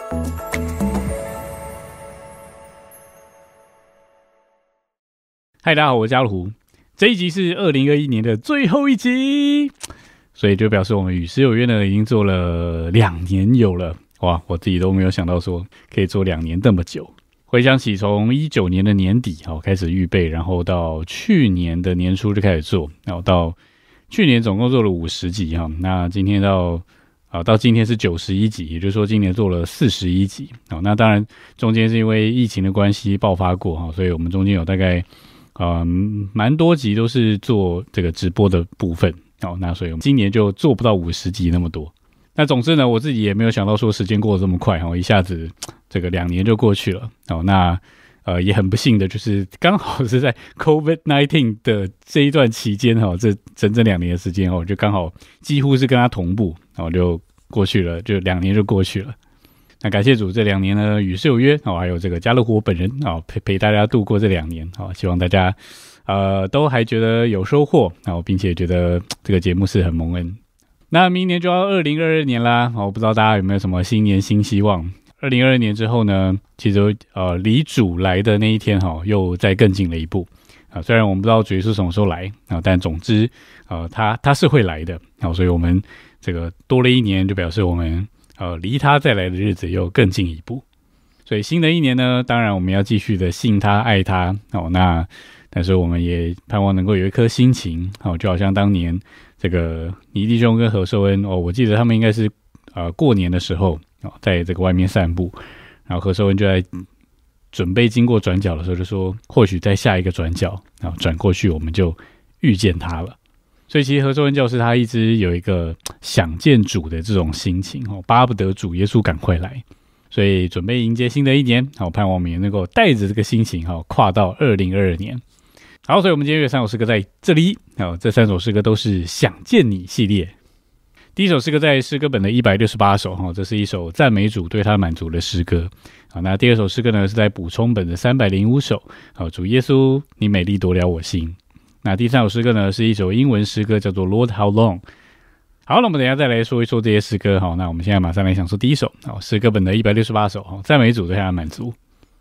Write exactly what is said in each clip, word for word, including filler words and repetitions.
嗨，大家好，我是家路。这一集是二零二一年的最后一集，所以就表示我们与诗有约呢已经做了两年有了。哇，我自己都没有想到说可以做两年这么久。回想起从一九年的年底好开始预备，然后到去年的年初就开始做，然后到去年总共做了五十集哈。那今天到啊到今天是九十一集，也就是说今年做了四十一集。好，那当然中间是因为疫情的关系爆发过哈，所以我们中间有大概嗯，蛮多集都是做这个直播的部分哦，那所以我们今年就做不到五十集那么多。那总之呢，我自己也没有想到说时间过得这么快哦，一下子这个两年就过去了哦。那呃也很不幸的就是刚好是在 COVID 十九 的这一段期间哈，这整整两年的时间哦，就刚好几乎是跟它同步，然后就过去了，就两年就过去了。那感谢主，这两年呢与世有约哦，还有这个家乐福本人哦陪陪大家度过这两年哦，希望大家呃都还觉得有收获哦，并且觉得这个节目是很蒙恩。那明年就要二零二二年啦哦，不知道大家有没有什么新年新希望？二零二二年之后呢，其实呃离主来的那一天哈、哦，又再更近了一步啊。虽然我们不知道主耶稣什么时候来啊，但总之呃他他是会来的啊，所以我们这个多了一年，就表示我们。呃，离他再来的日子又更进一步，所以新的一年呢，当然我们要继续的信他、爱他哦。那但是我们也盼望能够有一颗心情哦，就好像当年这个倪弟兄跟何寿恩哦，我记得他们应该是呃过年的时候哦，在这个外面散步，然后何寿恩就在准备经过转角的时候，就说或许在下一个转角，然后转过去我们就遇见他了。所以其实何寿恩教师他一直有一个想见主的这种心情哦，巴不得主耶稣赶快来，所以准备迎接新的一年，好，盼望我们也能够带着这个心情哈，跨到二零二二年。好，所以我们今天有三首诗歌在这里，好，这三首诗歌都是想见你系列。第一首诗歌在诗歌本的一百六十八首哈，这是一首赞美主对他满足的诗歌。好，那第二首诗歌呢是在补充本的三百零五首，好，主耶稣你美丽夺了我心。那第三首诗歌呢，是一首英文诗歌，叫做 Lord How Long。好，那我们等一下再来说一说这些诗歌。好，那我们现在马上来享受第一首。好，诗歌本的一百六十八首，好，赞美主对他的满足。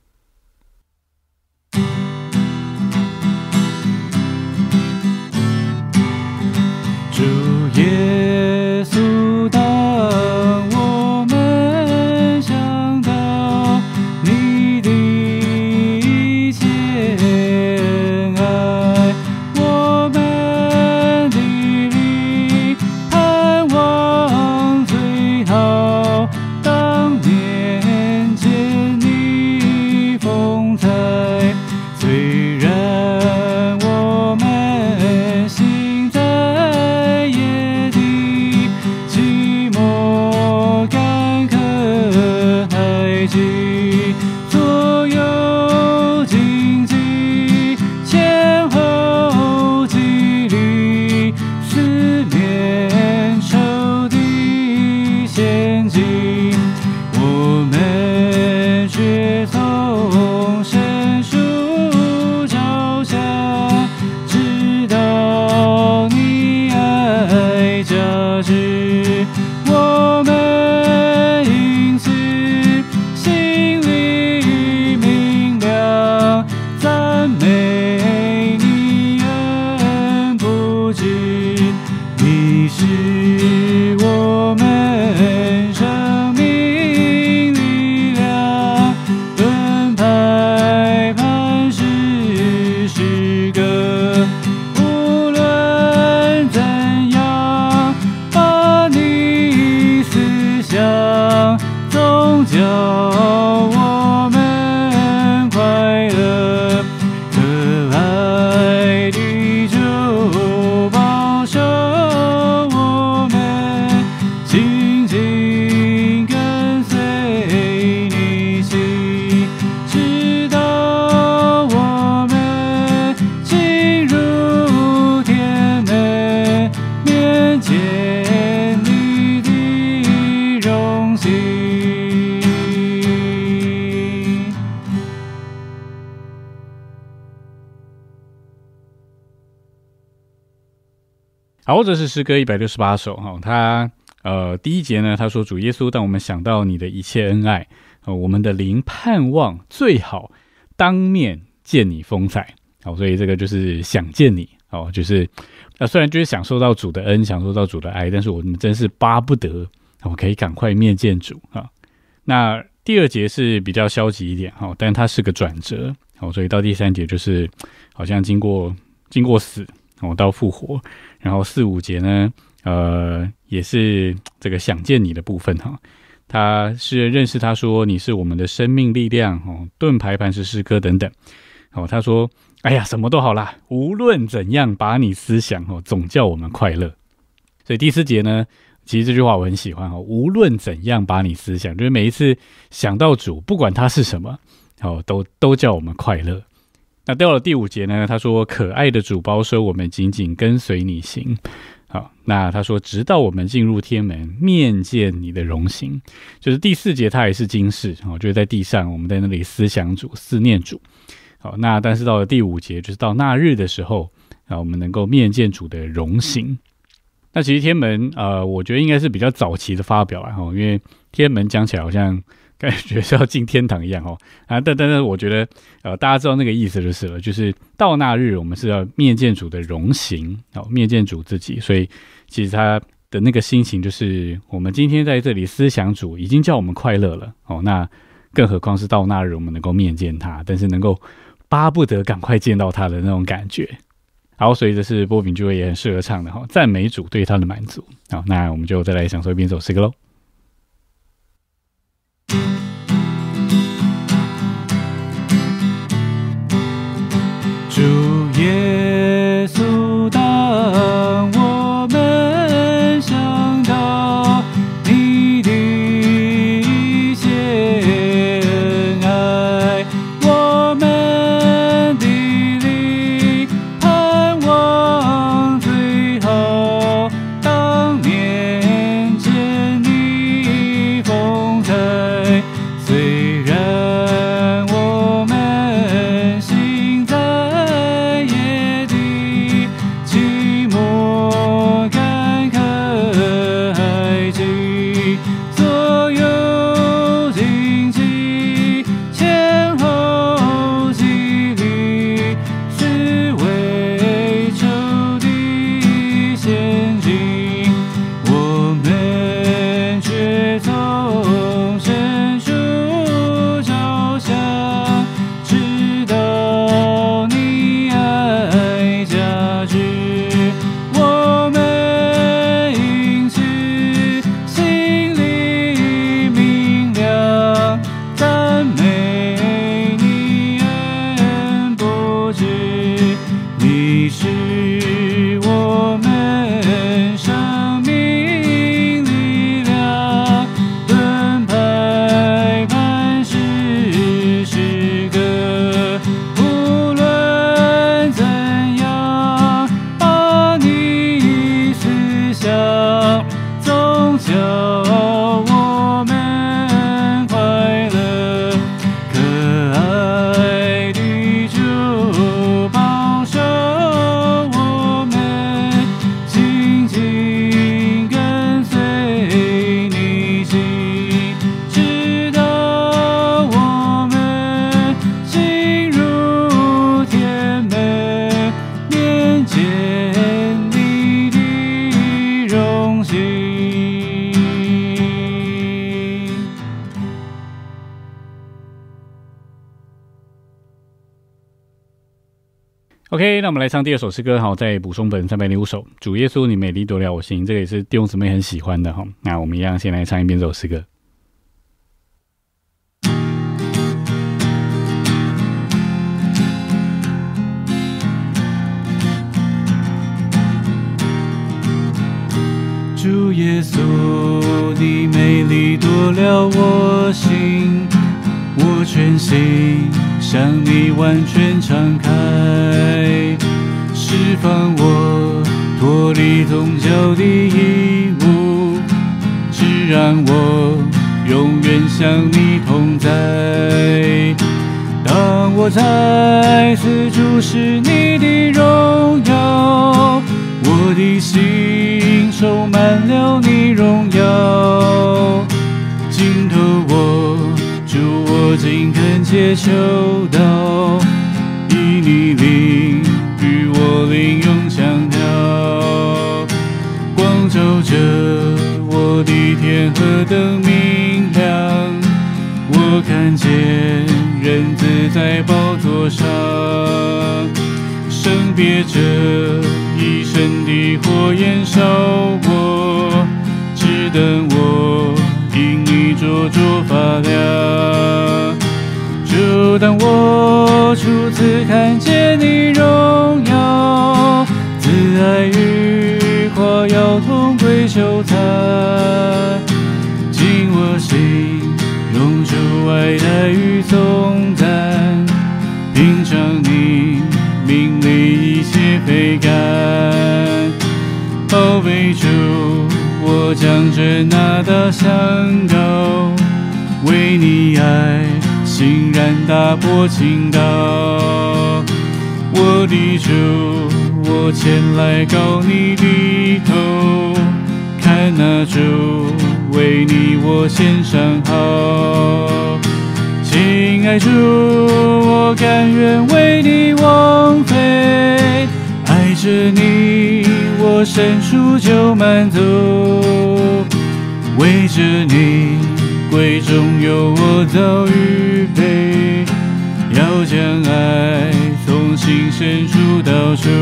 主耶稣，当我们想到你的慈爱，我们的灵盼望最好当面见你风采。虽然我们心在夜的寂寞干渴海极，左右荆棘，前后激励，四面受敌陷阱，我们却从深处照向，直到你爱加之，我们因此心里明亮，赞美你恩不止，你是我们生命力量，盾牌磐石诗歌，无论怎样，把你思想总叫我们快乐，可爱的主保守我们，紧紧跟随你心，直到我们进入天门，面见你的荣幸。 好，这是诗歌一百六十八首哈，它呃，第一节呢，他说主耶稣，当我们想到你的一切恩爱，呃、我们的灵盼望最好当面见你风采。好，所以这个就是想见你，哦，就是呃，虽然就是享受到主的恩，享受到主的爱，但是我们真是巴不得我、哦、可以赶快面见主啊。那第二节是比较消极一点，哦，但它是个转折，哦，所以到第三节就是好像经过经过死，哦，到复活，然后四五节呢，呃，也是这个想见你的部分哈、哦。他是认识他说你是我们的生命力量，哦，盾牌磐石诗歌等等，哦，他说。哎呀，什么都好啦，无论怎样把你思想哦，总叫我们快乐。所以第四节呢，其实这句话我很喜欢哦，无论怎样把你思想，就是每一次想到主，不管他是什么，哦，都都叫我们快乐。那到了第五节呢，他说可爱的主保守我们紧紧跟随你行。好，那他说直到我们进入天门，面见你的荣形。就是第四节他也是今世，哦，就是在地上，我们在那里思想主，思念主。好，那但是到了第五节，就是到那日的时候，啊，我们能够面见主的荣形。那其实天门，呃，我觉得应该是比较早期的发表啦，因为天门讲起来好像感觉是要进天堂一样哦，啊，但但是我觉得，呃，大家知道那个意思就是了，就是到那日我们是要面见主的荣形，哦，面见主自己，所以其实他的那个心情就是，我们今天在这里思想主，已经叫我们快乐了，哦，那更何况是到那日我们能够面见他，但是能够巴不得赶快见到他的那种感觉。好，所以这是波饼聚会也很适合唱的哈，赞美主对他的满足。好，那我们就再来享受一遍这首诗歌喽。 主耶稣，当我们想到你的一切恩爱，我们的灵盼望最好当面见你风采。虽然我们行在夜的寂寞干渴海际，所有荆棘前后激励，是为仇敌陷阱，我们却从深处照向，直到你爱加之，我们因此心里明亮，赞美你恩不止，你是我们生命力量，盾牌磐石诗歌，无论怎样把你思想，总叫我们快乐。可爱的主保守我们紧紧跟随你行，直到我们进入天门，面见你的荣形。 OK， 那我们来唱第二首诗歌，好，在补充本三百零五首。主耶稣，你美丽夺了我心，这个也是弟兄姊妹很喜欢的哈。那我们一样先来唱一遍这首诗歌。 主耶稣，你美丽夺了我心，我全心向你完全敞开，释放我脱离宗教的义务，只让我永远向你同在。当我再次注视你的荣耀， 我的心充满了你荣耀，尽头我主我紧恳切求祷，以你灵与我灵永相调，光照着我的天何等明亮，我看见人子在宝座上，圣别着一身的火焰烧我，只等我因你灼灼发亮。就当我初次看见你荣耀，慈爱与夸耀同归羞惭，进我心涌出爱戴与颂赞，品尝你命里一切非甘，宝贝主，我将这那大香膏，为你爱欣然打破倾倒。我的主，我前来告你的头，看那主为你我献上好。亲爱主，我甘愿为你枉费，爱着你我深处就满足，为着你贵重有我早预备，要将爱从心深处道出。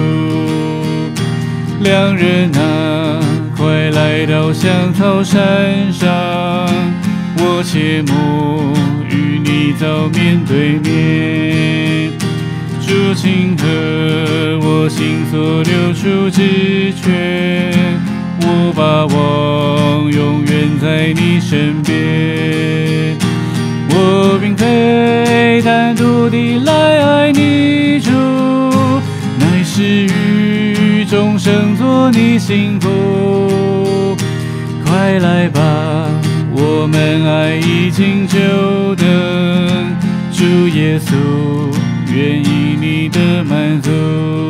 两人啊，快来到香草山上，我切慕与你早面对面，主请和我心所流出之泉，我把望永远在你身边。我并非单独地来爱你主，乃是与众生做你幸福。快来吧，我们爱已经久等，主耶稣愿意你的满足。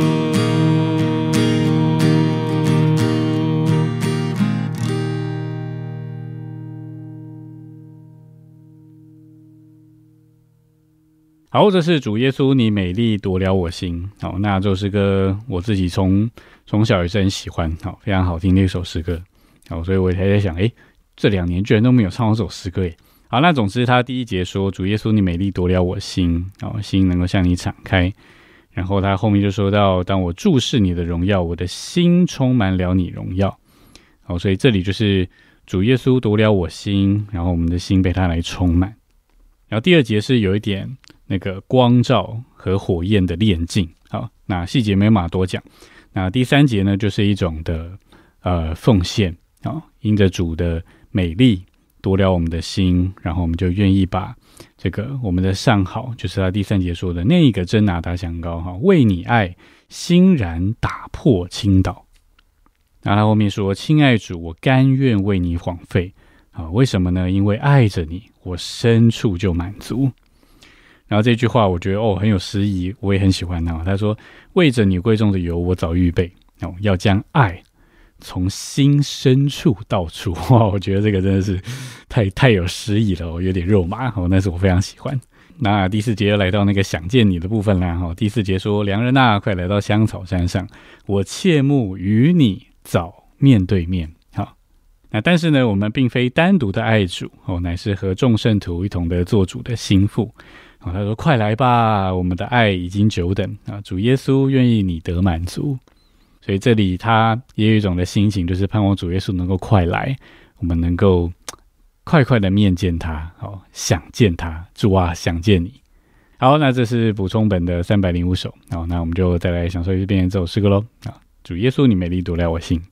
好，这是主耶稣，你美丽夺了我心。好，那这首诗歌我自己从从小也是很喜欢，好，非常好听的一首诗歌。好，所以我才在想，诶，这两年居然都没有唱到这首诗歌耶。好，那总之他第一节说，主耶稣，你美丽夺了我心，好，心能够向你敞开。然后他后面就说到，当我注视你的荣耀，我的心充满了你荣耀。好，所以这里就是主耶稣夺了我心，然后我们的心被他来充满。然后第二节是有一点那个光照和火焰的炼净，好，那细节没办法多讲。那第三节呢，就是一种的呃奉献，好，因着主的美丽夺了我们的心，然后我们就愿意把这个我们的上好，就是他第三节说的那个真拿大香膏，哈，为你爱欣然打破倾倒。那他后面说，亲爱主，我甘愿为你枉费，啊，为什么呢？因为爱着你，我深处就满足。然后这句话我觉得哦很有诗意，我也很喜欢他。他说，为着你贵重的油，我早预备，哦，要将爱从心深处道出。哇，我觉得这个真的是太太有诗意了，哦，有点肉麻，哦，但是我非常喜欢。那第四节又来到那个想见你的部分啦，哦，第四节说，良人啊，快来到香草山上，我切慕与你早面对面。好，那但是呢，我们并非单独的爱主，哦，乃是和众圣徒一同的做主的心腹。哦，他说，快来吧，我们的爱已经久等，啊，主耶稣愿意你得满足。所以这里他也有一种的心情，就是盼望主耶稣能够快来，我们能够快快的面见他，好，想见他，主啊，想见你。好，那这是补充本的三百零五首。好，那我们就再来享受一遍这首诗歌咯。啊，主耶稣，你美丽夺了我心。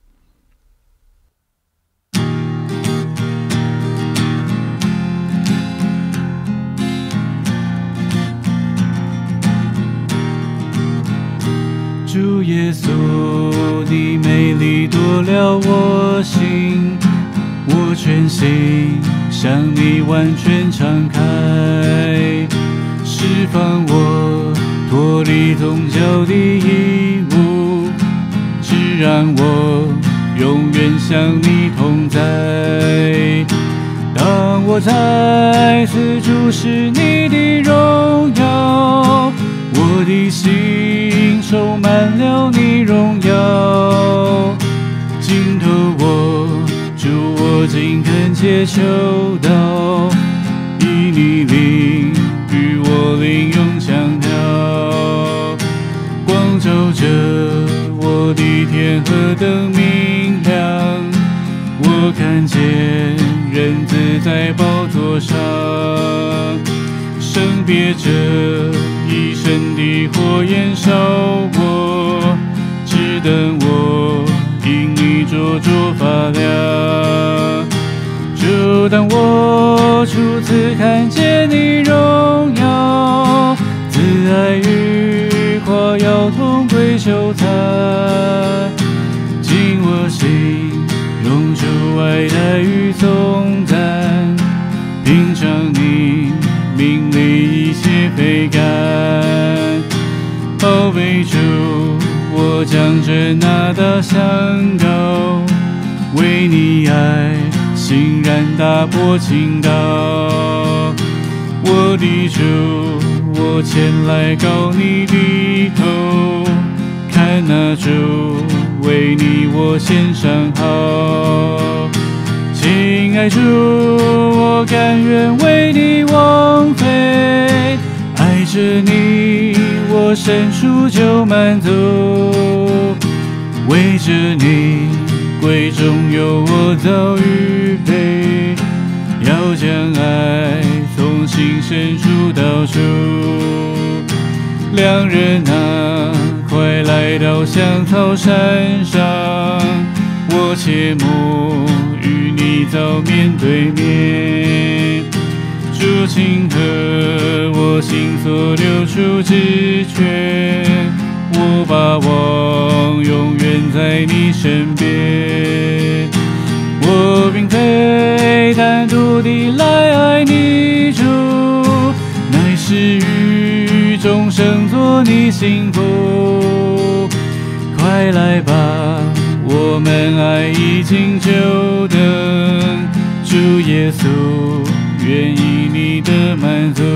主耶稣，你美丽夺了我心，我全心向你完全敞开，释放我脱离宗教的义务，只让我永远向你同在。当我再次注视你的荣耀，我的心充满了你荣耀。尽头我主，我紧恳切求道，以你灵与我灵永相调。光照着我的天何等明亮，我看见人子在宝座上，圣别着一身的火焰烧我，只等我因你灼灼发亮。就当我初次看见你荣耀，慈爱与夸耀同归羞惭，进我心涌出爱戴与颂赞，品尝你命里一切非甘。宝贝主，我将这那大香膏，为你爱欣然打破倾倒。我的主，我前来告你的头，看那主为你我献上好。亲爱主，我甘愿为你枉费，爱着你我伸出就满足，为着你贵重有我早预备，要将爱从心深处道出。两人啊，快来到香草山上，我切慕与你早面对面。主请和我心所流出之泉，我把望永远在你身边。我并非单独地来爱你主，乃是与众生做你幸福。快来吧，我们爱已经久等，主耶稣愿意你的满足。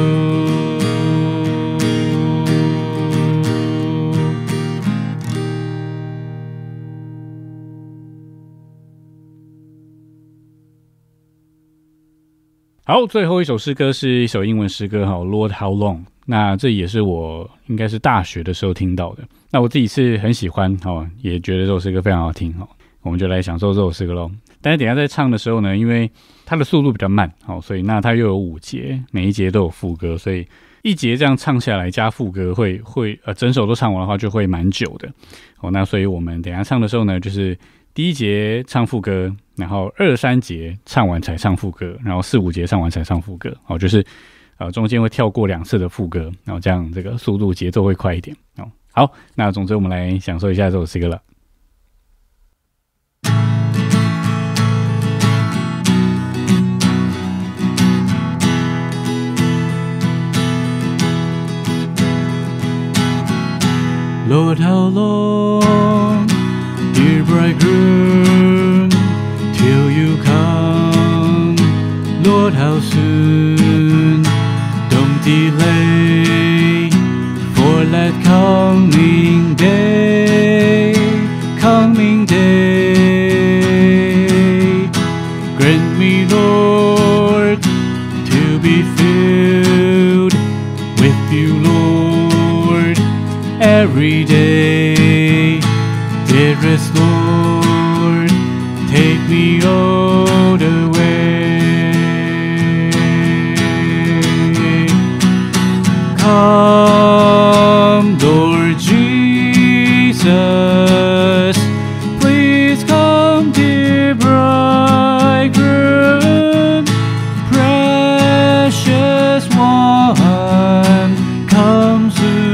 好，最后一首诗歌是一首英文诗歌哈 ，Lord How Long。那这也是我应该是大学的时候听到的。那我自己是很喜欢哈，也觉得这首诗歌非常好听哈。我们就来享受这首诗歌咯。但是等一下在唱的时候呢，因为它的速度比较慢，好，所以那它又有五节，每一节都有副歌，所以一节这样唱下来加副歌会会呃整首都唱完的话就会蛮久的。哦，那所以我们等一下唱的时候呢，就是第一节唱副歌，然后二三节唱完才唱副歌，然后四五节唱完才唱副歌。好，就是呃中间会跳过两次的副歌，然后这样这个速度节奏会快一点。哦，好，那总之我们来享受一下这首诗歌了。 Lord, how long, dear bridegroom, till you come? Lord, how soon? Don't delay for that coming day, coming day. Grant me, Lord, to be filled with you, Lord, every day. Dearest Lord, take me all the way. Come, Lord Jesus, please come, dear bridegroom, precious one, come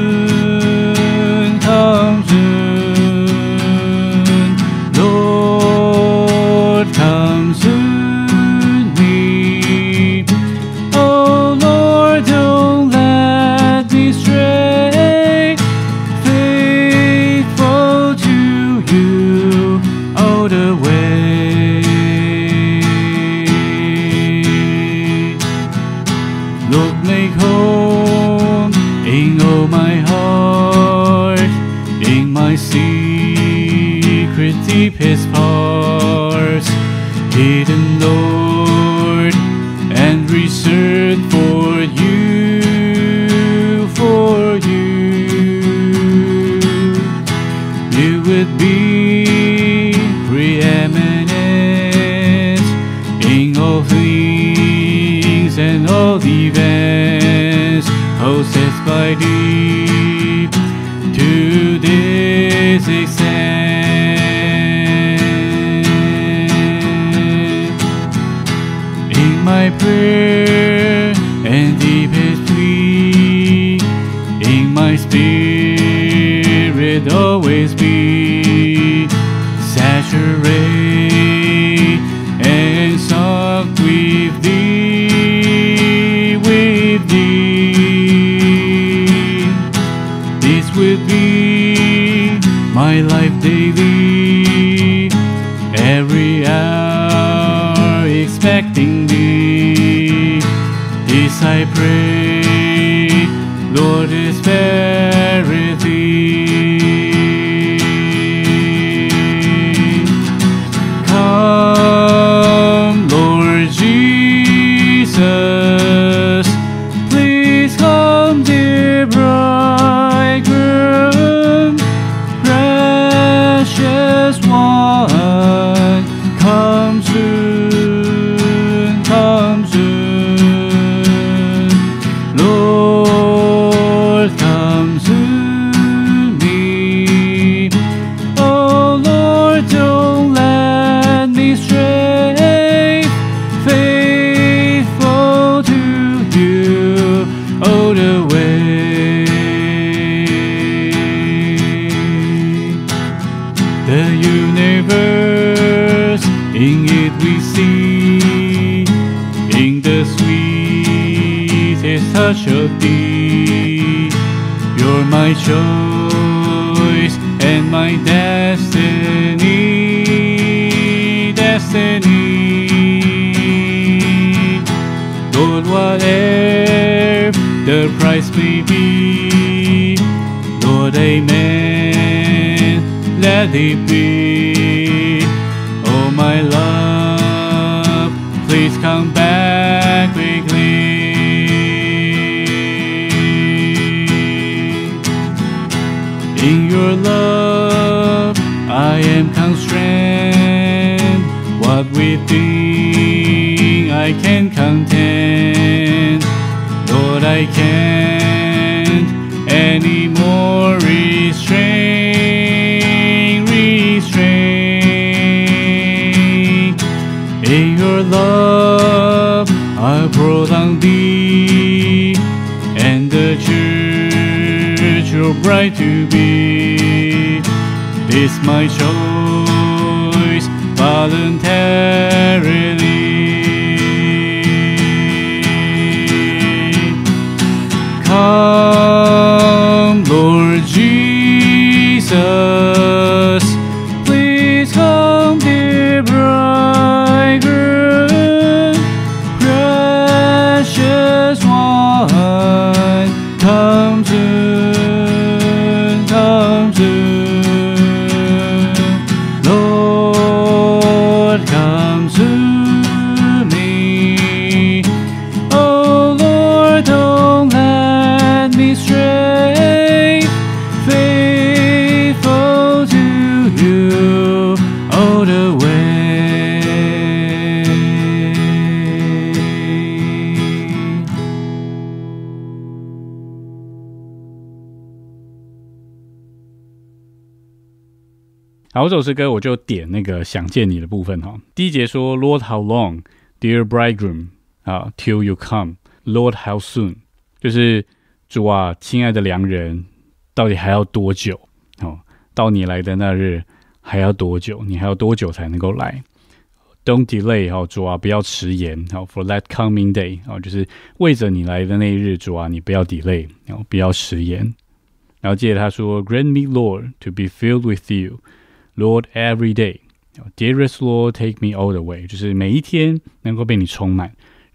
soon, come soon, Lord, come soon me. Oh Lord, don't let me Lord, make home in all my heart, in my secret deepest parts, hidden, Lord, and reserved for you, for you. You would be preeminent in all things and all events, possessed by thee to this extent. In my prayer and deepest plea, in my spirit always be saturate and soft with thee, with thee. This would be my life daily, every hour expecting thee. This I pray, Lord, especially thee. Come, Lord Jesus, please come, dear bridegroom, precious one, come soon, come soon. Lord, come to me. Oh Lord, don't let me stray, faithful to you all the way. The universe, in it we see, in the sweetest touch of thee. You're my choice and my destiny, destiny. Lord, whatever the price may be, Lord, amen, let it be. Oh my love, please come back quickly. In your love I am constrained, what within I can contend. Lord, I can't anymore restrain, restrain. In your love I pour down thee, and the church your bride to be. This my choice voluntarily. Come, Lord Jesus, please come, dear bridegroom, precious one, come soon, come soon. Lord, come to me. Oh Lord, don't let me stray, faithful to you all the way. 好，这首诗歌我就点那个想见你的部分哈。第一节说 Lord how long, dear bridegroom 啊 till you come, Lord how soon， 就是主啊，亲爱的良人，到底还要多久？哦，到你来的那日还要多久？你还要多久才能够来 ？Don't delay， 哦，主啊，不要迟延。好 ，for that coming day， 哦，就是为着你来的那一日，主啊，你不要 delay， 哦，不要迟延。然后接着他说 ，Grant me, Lord, to be filled with you, Lord, every day. Dearest Lord, take me all the way， 就是每一天能够被你充满，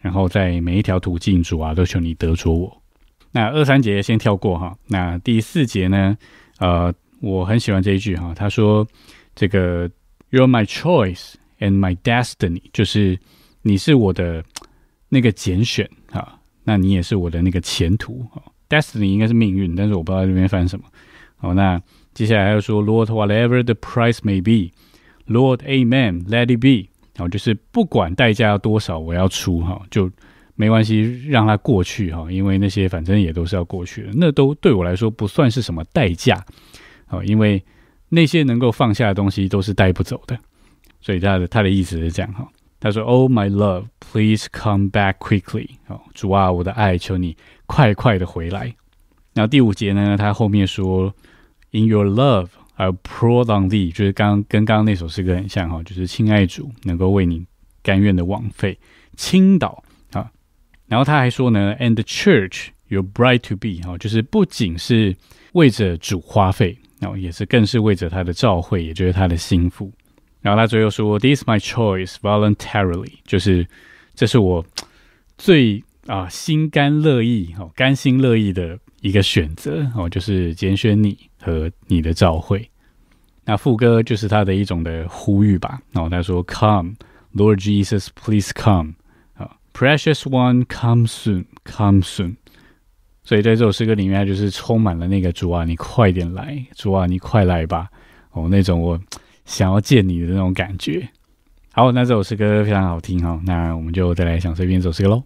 然后在每一条途径，主啊，都求你得着我。那二三节先跳过哈。那第四节呢，呃，我很喜欢这一句哈，他说这个 You're my choice and my destiny， 就是你是我的那个拣选哈，那你也是我的那个前途。Destiny 应该是命运，但是我不知道这边翻什么。好，那接下来又说 Lord whatever the price may be Lord amen let it be， 好，就是不管代价要多少我要出哈，就没关系让它过去哈，因为那些反正也都是要过去的，那都对我来说不算是什么代价，好，因为那些能够放下的东西都是带不走的，所以他的他的意思是这样哈。他说 Oh my love please come back quickly， 好，主啊我的爱求你快快的回来。然后第五节呢，他后面说 In your love I'll pour on thee， 就是刚跟刚刚那首诗歌很像哈，就是亲爱主能够为你甘愿的枉费倾倒啊。然后他还说呢 And the church your bride to be， 就是不仅是为着主花费，也是更是为着他的召会，也就是他的心腹。然后他最后说 This is my choice voluntarily， 就是这是我最啊心甘乐意、哦、甘心乐意的一个选择、哦、就是拣选你和你的召会。那副歌就是他的一种的呼吁吧、哦、他说 Come Lord Jesus please come、哦、Precious one come soon come soon。 所以在这首诗歌里面他就是充满了那个主啊你快点来，主啊你快来吧、哦、那种我想要见你的那种感觉。好，那这首诗歌非常好听、哦、那我们就再来享受一遍这首诗歌咯。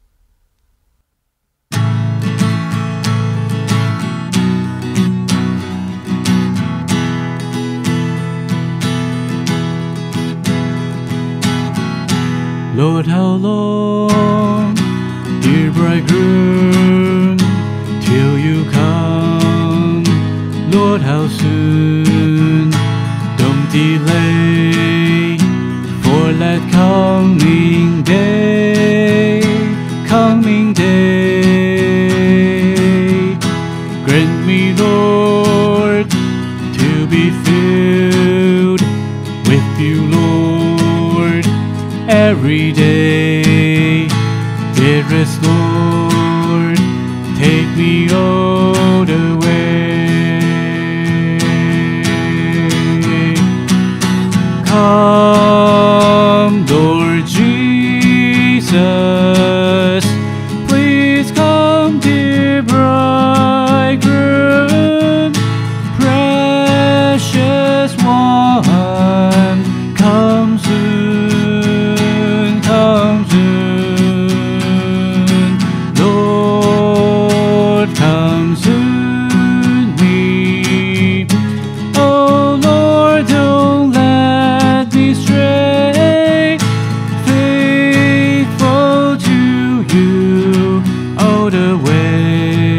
Lord, how long, dear bridegroom, till you come? Lord, how soon? Don't delay for that coming day, coming day. Grant me, Lord, to be filled with you, Lord, every day. Dearest Lord, take me all the way. Come, Lord Jesus, please come, dear bridegroom, precious one, come soon, come soon, Lord, come soon me. Oh Lord, don't let me stray, faithful to you all the way.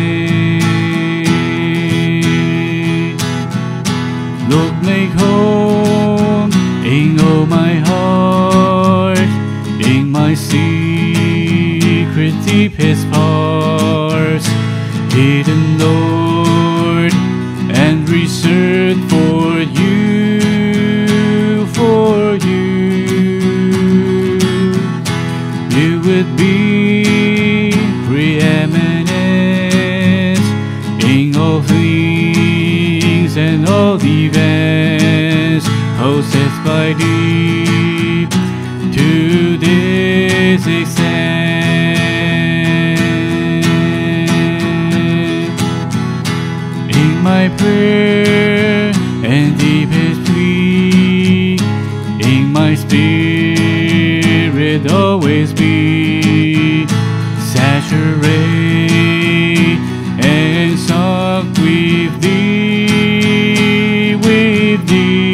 Lord, make home in all my heart, in my secret deepest parts, hidden, Lord, and reserved for you, for you. You would be preeminent in all things and all events, possessed by thee to this extent. In my prayer and deepest plea, in my spirit always be saturate and sunk with thee, with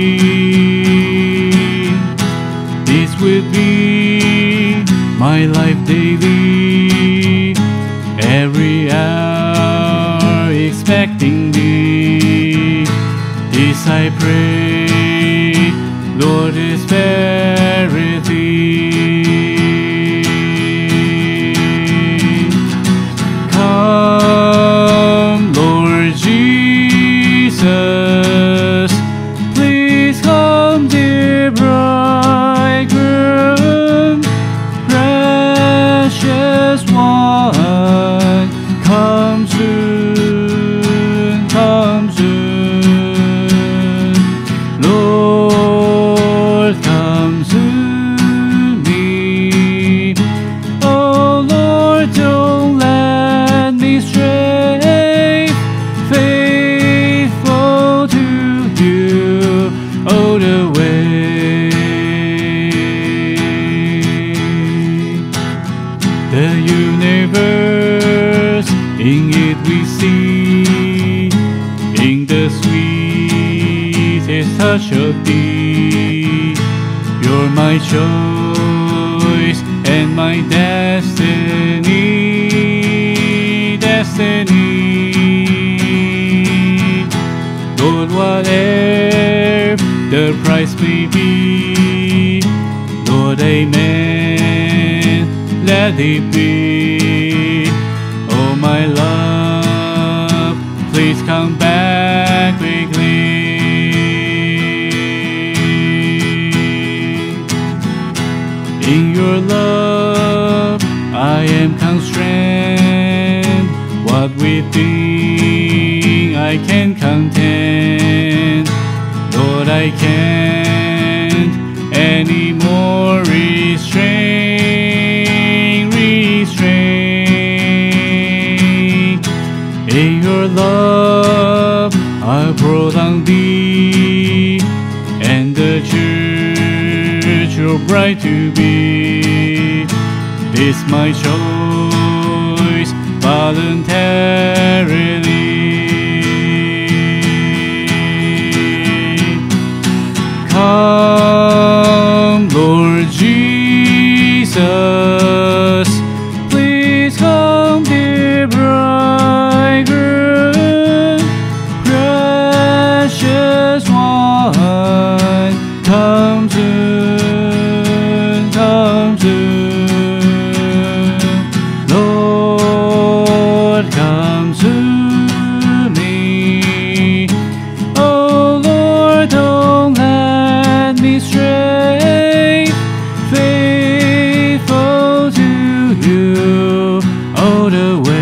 thee. This would be my life daily, every hour expecting thee. This I pray, Lord, spare thee. Come, Lord Jesus, please come, dear bridegroom, much of thee. You're my choice and my destiny, destiny. Lord, whatever the price may be, Lord, amen, let it be. Oh, my love, please come back quickly. In your love, I am constrained. What within I can contend, Lord, I can't anymore restrain, restrain. In your love, I brought on thee, and the church, your bride to be. This my choice voluntarily. Come, Lord Jesus, please come, dear bridegroom, precious one, come soon, come soon. Lord, come to me. Oh Lord, don't let me stray, faithful to you all the way.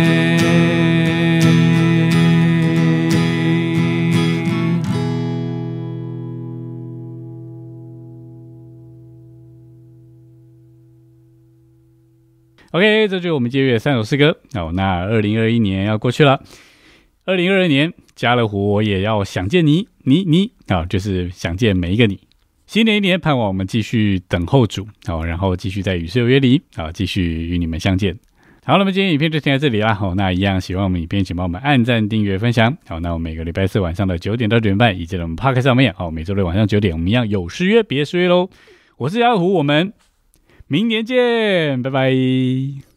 OK， 这就是我们借乐三首诗歌。哦，那二零二一年要过去了，二零二二年家乐福我也要想见你，你你啊、哦，就是想见每一个你。新的一年，盼望我们继续等候主，好、哦，然后继续在与世有约里啊、哦，继续与你们相见。好，那么今天影片就停在这里啦。好、哦，那一样喜欢我们影片，请帮我们按赞、订阅、分享。好，那我们每个礼拜四晚上的九点到九点半，以及在我们 Podcast 上面，好，每周六晚上九点，我们一样有失约，别失约喽。我是家乐福，我们明年见，拜拜。